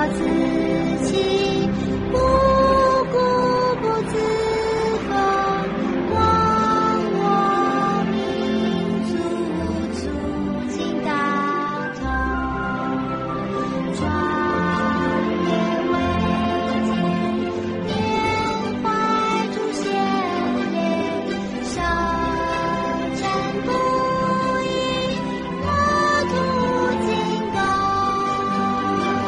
自弃，不顾不自封，忘我民族促进大同，壮烈伟健，缅怀祖先烈，少战不已，国土精攻。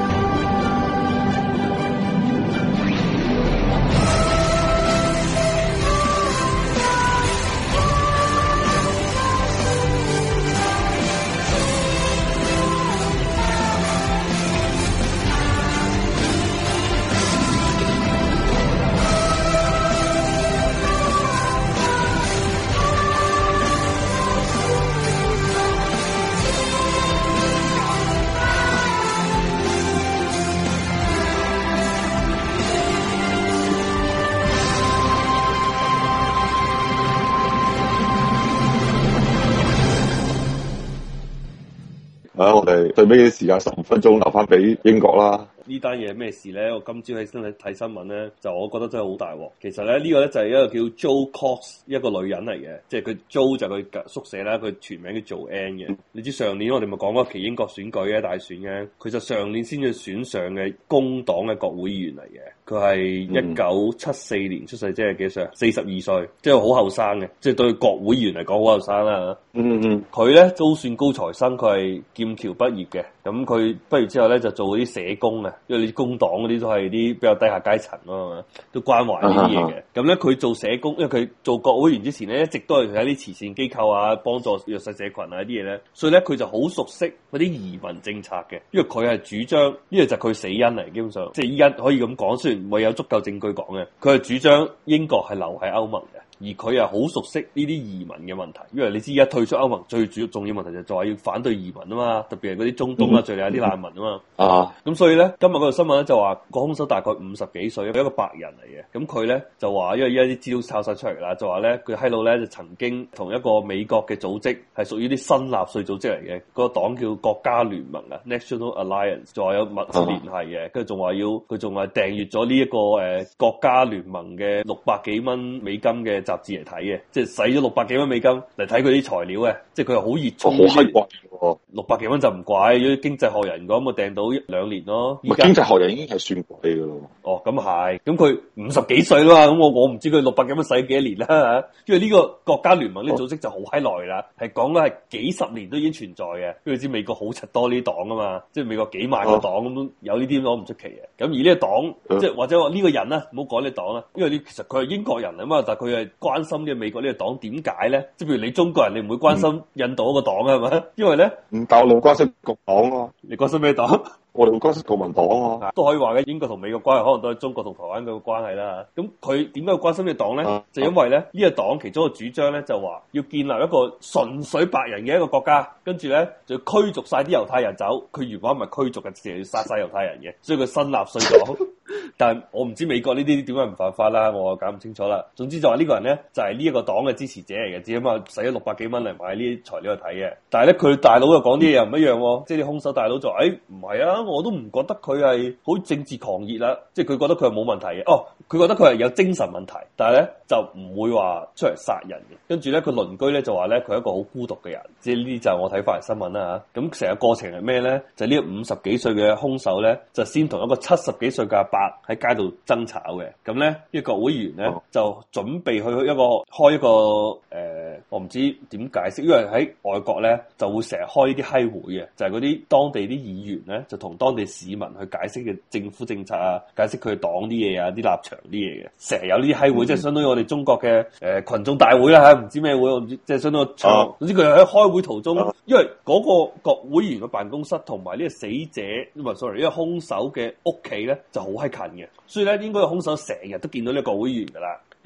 我哋最尾嘅時間15分鐘留翻俾英國啦。 呢單嘢係咩事咧？我今朝起身睇新聞咧，就我覺得真係好大鑊。其實咧呢個咧就係一個叫 Jo Cox 一個女人嚟嘅，即係佢 Jo 就佢縮寫啦，佢全名叫做 Ann 嘅。你知上年我哋咪講過一期英國選舉嘅大選嘅，佢就上年先至選上嘅工黨嘅國會議員嚟嘅。佢係1974年出世，即係幾歲啊？42歲，即係好後生嘅，即係對國會議員嚟講好後生啦。佢咧都算高材生，佢係劍橋畢業嘅。咁佢畢業之後咧就做嗰啲社工啊，因為你工黨嗰啲都係啲比較低下階層咯，都關懷呢啲嘢嘅。咁咧佢做社工，因為佢做國會議員之前咧一直都係喺啲慈善機構啊，幫助弱勢社群啊啲嘢咧，所以咧佢就好熟悉嗰啲移民政策嘅。因為佢係主張，呢個就係佢死因嚟，基本上即係依家可以咁講，雖然未有足夠證據講嘅，佢係主張英國係留喺歐盟嘅。而佢又好熟悉呢啲移民嘅問題，因為你知而家退出歐盟最主要重要問題就係話要反對移民啊嘛，特別係嗰啲中東啊、敘利亞啲難民啊嘛。咁所以咧，今日嗰條新聞咧就話個兇手大概50幾歲，係一個白人嚟嘅。咁佢咧就話，因為而家啲資料抄晒出嚟啦，就話咧佢喺度咧就曾經同一個美國嘅組織係屬於啲新納粹組織嚟嘅，嗰個黨叫國家聯盟啊 （National Alliance），仲話有密切聯繫嘅，跟住仲話佢仲係訂閲咗呢一個國家聯盟嘅600幾蚊美金嘅雜誌嚟睇嘅，即係使咗600幾蚊美金嚟睇佢啲材料嘅，即係佢係好熱衷。好閪貴喎！600幾蚊就唔貴，如果經濟學人講，咪訂到1-2年咯。 經濟學人已經係算貴㗎咯。 哦，咁係，咁佢50幾歲啦嘛，咁我唔知佢600幾蚊使幾多年啦。因為呢個國家聯盟呢個組織就好閪耐啦，係講緊係幾十年都已經存在嘅。因為你知美國好柒多呢啲黨啊嘛，即係美國幾萬個黨咁，有呢啲攞唔出奇嘅。咁而呢個黨，即係或者話呢個人啦，唔好講呢個黨啦，因為其實佢係英國人啊嘛，但係佢係關心嘅美國呢個黨點解咧？即係譬如你中國人，你唔會關心印度嗰個黨啊，係咪？因為咧， 但我哋關心國黨啊。 你關心咩黨？ 我哋會關心國民黨啊， 都可以話嘅。英國同美國關係可能都係中國同台灣嘅關係啦。咁佢點解要關心呢個黨咧？就因為咧呢個黨其中一個主張咧就話要建立一個純粹白人嘅一個國家，跟住咧就要驅逐晒啲猶太人走。佢原本唔係驅逐嘅，成日要殺晒猶太人嘅，所以佢新納粹黨。但係我唔知美國呢啲點解唔犯法啦，我搞唔清楚啦。總之就話呢個人咧就係呢一個黨嘅支持者嚟嘅，只咁啊使咗600幾蚊嚟買呢啲材料去睇嘅。但係咧佢大佬又講啲嘢又唔一樣，即係啲兇手大佬就話唔係啊，我都唔覺得佢係好政治狂熱啦，即係佢覺得佢係冇問題嘅。佢覺得佢係有精神問題，但係咧就唔會話出嚟殺人嘅。跟住咧佢鄰居咧就話咧佢係一個好孤獨嘅人，即係呢啲就係我睇翻嚟新聞啦嚇。咁成個過程係咩咧？就係呢個50幾歲嘅兇手咧，就先同一個70幾歲嘅阿伯喺街度爭吵嘅。咁咧呢個國會議員咧就準備去開一個我唔知點解釋，因為喺外國咧就會成日開呢啲閪會嘅，就係嗰啲當地啲議員咧就同當地市民去解釋嘅政府政策啊，解釋佢黨啲嘢啊，啲立場啲嘢嘅，成日有呢啲閪會，即係相當於我哋中國嘅群眾大會啦嚇，唔知咩會，我唔知，即係相當於總之佢喺開會途中，因為嗰個國會議員嘅辦公室同埋呢個死者唔係 sorry 呢個兇手嘅屋企咧就好閪近嘅，所以咧應該個兇手成日都見到呢個國會議員噶啦。因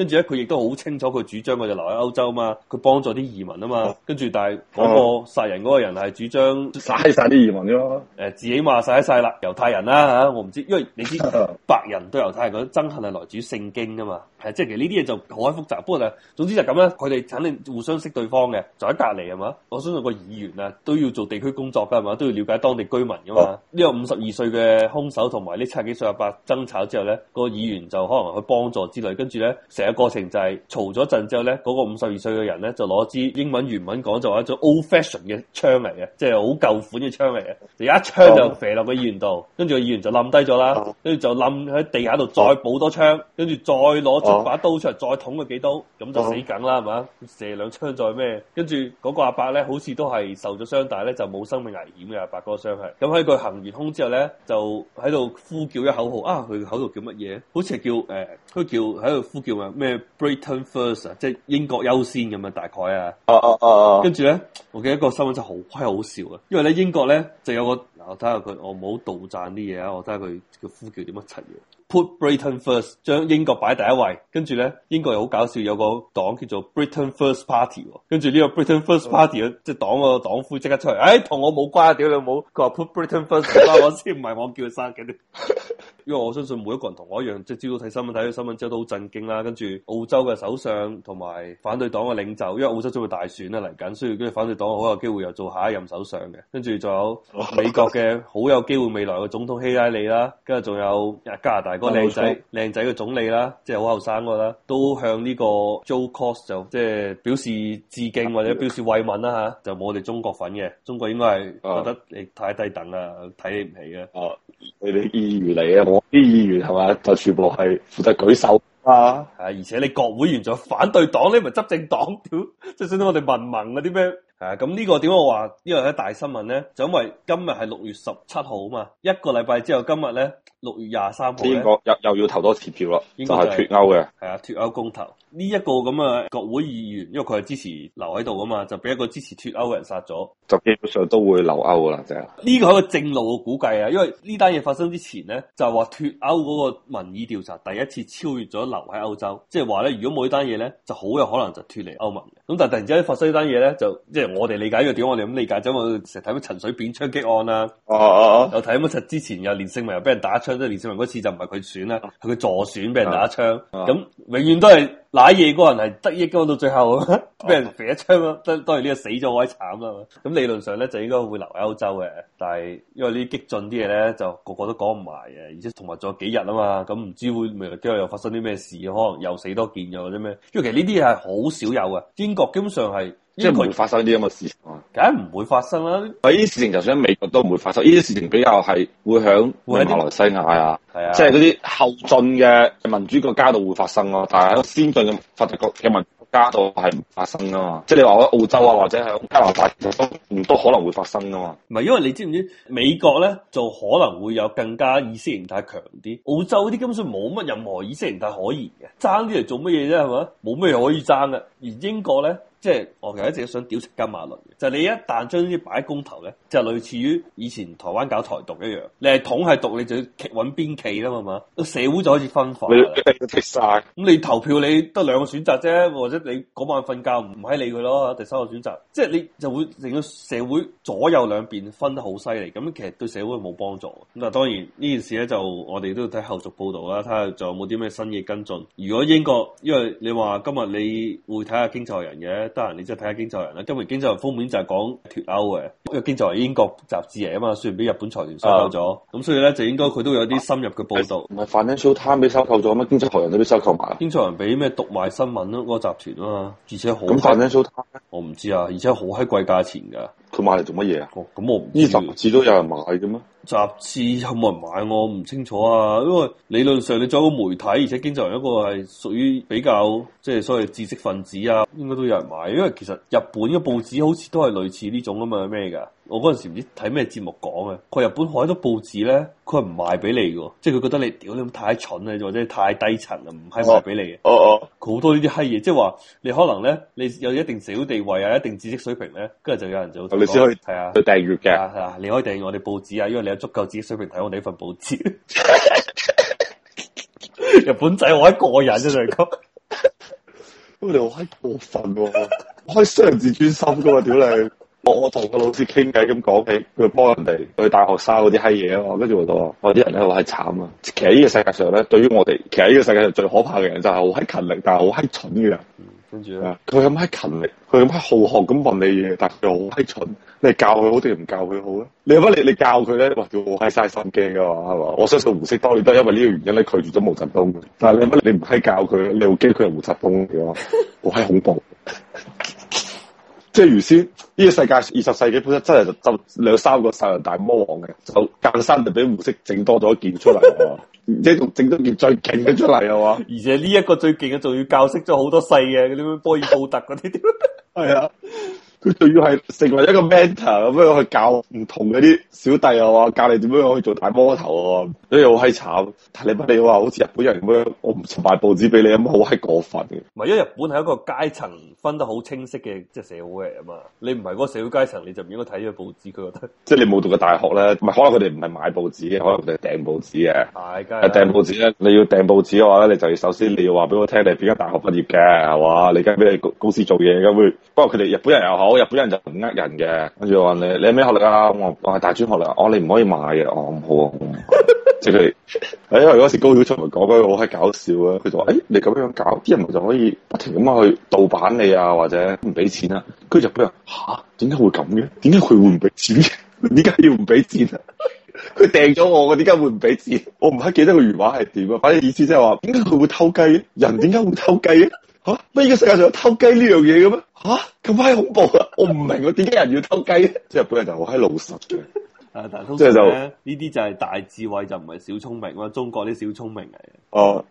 跟住咧佢亦都好清楚佢主張佢就留喺歐洲啊嘛，佢幫助啲移民啊嘛，跟住但係嗰個殺人嗰個人係主張嘥晒啲移民咯。 自己話晒啦，猶太人啦嚇，我唔知，因為你知白人對猶太人嗰種憎恨係來自於聖經噶嘛，係即係其實呢啲嘢就好複雜，不過就總之就咁啦，佢哋肯定互相識對方嘅，就喺隔離係嘛，我相信個議員啊都要做地區工作㗎係嘛，都要了解當地居民㗎嘛。呢個52歲嘅兇手同埋呢70幾歲阿伯爭吵之後咧，個議員就可能去幫助之類，跟住咧成個過程就係嘈咗陣之後咧，嗰個52歲嘅人咧就攞支英文原文講就話一種 old fashion 嘅槍嚟嘅，即係好舊款嘅槍嚟嘅，就一槍就射落個議員度，跟住個議員就冧低咗啦，跟住就冧喺地下度再補多槍，跟住再攞出把刀出嚟再捅佢幾刀，咁就死梗啦係嘛，射兩槍再咩，跟住嗰個阿伯咧好似都係受咗傷，但係咧就冇生命危險嘅阿伯嗰個傷係，咁喺佢行完兇之後咧就喺度呼叫一口號啊，佢口號叫乜嘢？好似係叫佢叫喺度呼叫咩 Britain First 啊，即係英國優先咁啊大概啊，跟住咧我記得個新聞真係好閪好笑啊，因為咧英國咧就有個我睇下佢，我唔好杜撰啲嘢啊，我睇下佢叫呼叫點乜柒嘢。Put Britain First， 將英國擺第一位，跟住咧英國又好搞笑，有個黨叫做 Britain First Party， 跟住呢個 Britain First Party 即係黨個黨魁即刻出嚟，同我冇關，屌你冇，佢話 Put Britain First， 我先唔係我叫佢生嘅。因為我相信每一個人同我一樣，即係朝早睇新聞，睇咗新聞之後都好震驚啦。跟住澳洲嘅首相同埋反對黨嘅領袖，因為澳洲將會大選啦嚟緊，所以跟住反對黨好有機會又做下一任首相嘅。跟住仲有美國嘅好有機會未來嘅總統希拉里啦，跟住仲有加拿大嗰個靚仔嘅總理啦，即係好後生個啦，都向呢個 Joe Cox 就即係表示致敬或者表示慰問啦吓，就冇我哋中國份嘅，中國應該係覺得你太低等啦，睇你唔起嘅。 你哋議員嚟嘅，我啲議員係嘛，就全部係負責舉手啊， 而且你國會員仲有反對黨，你咪執政黨，屌，即係相當我哋民盟嗰啲咩？咁呢個點解我話呢個係大新聞咧？就因為今日係6月17號啊嘛，一個禮拜之後今日咧6月23號咧，英國又要投多次票啦，就係脫歐嘅， 係啊，脫歐公投呢一個咁嘅國會議員，因為佢係支持留喺度啊嘛，就俾一個支持脫歐嘅人殺咗， 就基本上都會留歐噶啦，即係呢個係一個正路嘅估計啊，因為呢單嘢發生之前咧，就係話脫歐嗰個民意調查第一次超越咗留喺歐洲，即係話咧，如果冇呢單嘢咧，就好有可能就脫離歐盟嘅。咁但係突然之間發生呢單嘢咧，就即係我哋理解呢個點，我哋咁理解，就因為成日睇乜陳水扁槍擊案啊，又睇乜之前又連勝文又俾人打槍，即係連勝文嗰次就唔係佢選啦，係佢助選俾人打槍，咁永遠都係瀨嘢嗰人係得益噶，到最後俾人射一槍咯，當然呢個死咗好慘啦。咁理論上咧就應該會留喺歐洲嘅，但係因為呢啲激進啲嘢咧就個個都講唔埋嘅，而且同埋仲有幾日啊嘛，咁唔知會未來幾日又發生啲咩事，可能又死多件又或者咩？因為其實呢啲嘢係好少有嘅，英國基本上係。 即係唔會發生啲咁嘅事情啊！ 梗係唔會發生啦！ 呢啲事情就算喺美國都唔會發生，呢啲事情比較係會響馬來西亞啊，即係嗰啲後進嘅民主國家度會發生咯。但係喺先進嘅發達國嘅民主國家度係唔發生噶嘛。即係你話喺澳洲啊或者喺加拿大，其實都可能會發生噶嘛。 唔係，因為你知唔知美國咧就可能會有更加意識形態強啲，澳洲嗰啲根本上冇乜任何意識形態可言嘅，爭啲嚟做乜嘢啫係嘛？冇咩可以爭嘅。而英國咧。即係我其實一直想屌食金馬倫嘅，就係你一旦將呢啲擺喺公投咧，就類似於以前台灣搞台獨一樣，你係統係獨，你就要揾邊企啦嘛，個社會就開始分化。你剔晒，咁你投票你得兩個選擇啫，或者你嗰晚瞓覺唔喺理佢咯，第三個選擇，即係你就會令到社會左右兩邊分得好犀利，咁其實對社會冇幫助。咁啊當然呢件事咧就我哋都要睇後續報導啦，睇下仲有冇啲咩新嘅跟進。如果英國，因為你話今日你會睇下經濟學人嘅。得閒你即係睇下經濟人啦，今日經濟人封面就係講脫歐嘅，因為經濟人英國雜誌嚟啊嘛，雖然俾日本財團收購咗，咁所以咧就應該佢都有啲深入嘅報導。 唔係 Financial Times 俾收購咗咩？經濟學人都俾收購埋。 經濟人俾咩讀賣新聞咯，嗰個集團啊嘛，而且好。 咁 Financial Times 我唔知啊，而且好閪貴價錢㗎。 佢買嚟做乜嘢啊？ 咁我唔知。 呢雜誌都有人買嘅咩？ 雜誌有冇人買我唔清楚啊，因為理論上你做一個媒體，而且經濟人一個係屬於比較即係所謂知識分子啊，應該都有人買。因為其實日本嘅報紙好似都係類似呢種咁嘅咩㗎。我嗰陣時唔知睇咩節目講嘅，佢日本好多報紙咧，佢係唔賣俾你嘅，即係佢覺得你屌你咁太蠢啊，或者太低層啊，唔係賣俾你嘅。佢好多呢啲閪嘢，即係話你可能咧，你有一定社會地位啊，一定知識水平咧，跟住就有人就你先可以係啊， 去訂閱嘅。 係啊，你可以訂閱我哋報紙啊，因為你有足夠知識水平睇我哋呢份報紙。日本仔我一個人啫，就係咁。 咁你好閪過分喎，我可以傷人自尊心噶嘛，屌你！我同個老師傾偈咁講起，佢幫人哋去大學生嗰啲閪嘢啊嘛，跟住我就話：我啲人咧好閪慘啊！其實呢個世界上咧，對於我哋，其實呢個世界上最可怕嘅人就係好閪勤力，但係好閪蠢嘅人。 跟住咧， 佢咁閪勤力，佢咁閪好學咁問你嘢，但係佢又好閪蠢。你教佢好定唔教佢好咧？你乜你教佢咧？哇！叫我閪嘥心機噶嘛，係嘛？我相信胡適當年都係因為呢個原因咧拒絕咗毛澤東嘅。但係你乜你唔閪教佢，你好驚佢係胡澤東嘅話，好閪恐怖。即係原先呢個世界20世紀本身真係就2-3個殺人大魔王嘅，就間生就俾胡適整多咗一件出嚟，而且仲整咗件最勁嘅出嚟啊嘛！ 而且呢一個最勁嘅仲要教識咗好多細嘅嗰啲咩波爾布特嗰啲， 係啊！佢仲要係成為一個 mentor 咁樣去教唔同嗰啲小弟啊，話教你點樣去做大魔頭啊，所以好閪慘。但你話好似日本人咁樣，我唔賣報紙俾你咁，好閪過分嘅。 唔係，因為日本係一個階層分得好清晰嘅即係社會嚟啊嘛。你唔係嗰個社會階層，你就唔應該睇呢個報紙。佢覺得即係你冇讀過大學咧，唔係可能佢哋唔係買報紙嘅，可能佢哋係訂報紙嘅。 係，梗係訂報紙咧，你要訂報紙嘅話咧，你就要首先你要話俾我聽你係邊間大學畢業嘅，係嘛？你而家俾你公司做嘢咁會。不過佢哋日本人又好，日本人就唔呃人嘅。跟住話你係咩學歷啊？我係大專學歷。你唔可以買嘅。唔好啊。即係佢哋，因為嗰時高曉松咪講嗰個好閪搞笑啊！佢就話：你咁樣搞，啲人咪就可以不停咁樣去盜版你啊，或者唔俾錢啊。跟住日本人點解會咁嘅？點解佢會唔俾錢嘅？點解要唔俾錢啊？佢訂咗我，點解會唔俾錢？我唔係記得個原話係點啊！反正意思即係話，點解佢會偷雞嘅？人點解會偷雞嘅？乜呢個世界上有偷雞呢樣嘢嘅咩？咁閪恐怖啊！我唔明啊，點解人要偷雞咧？即係日本人就好閪老實嘅。 但係通常咧呢啲就係大智慧，就唔係小聰明咯。中國啲小聰明嚟嘅。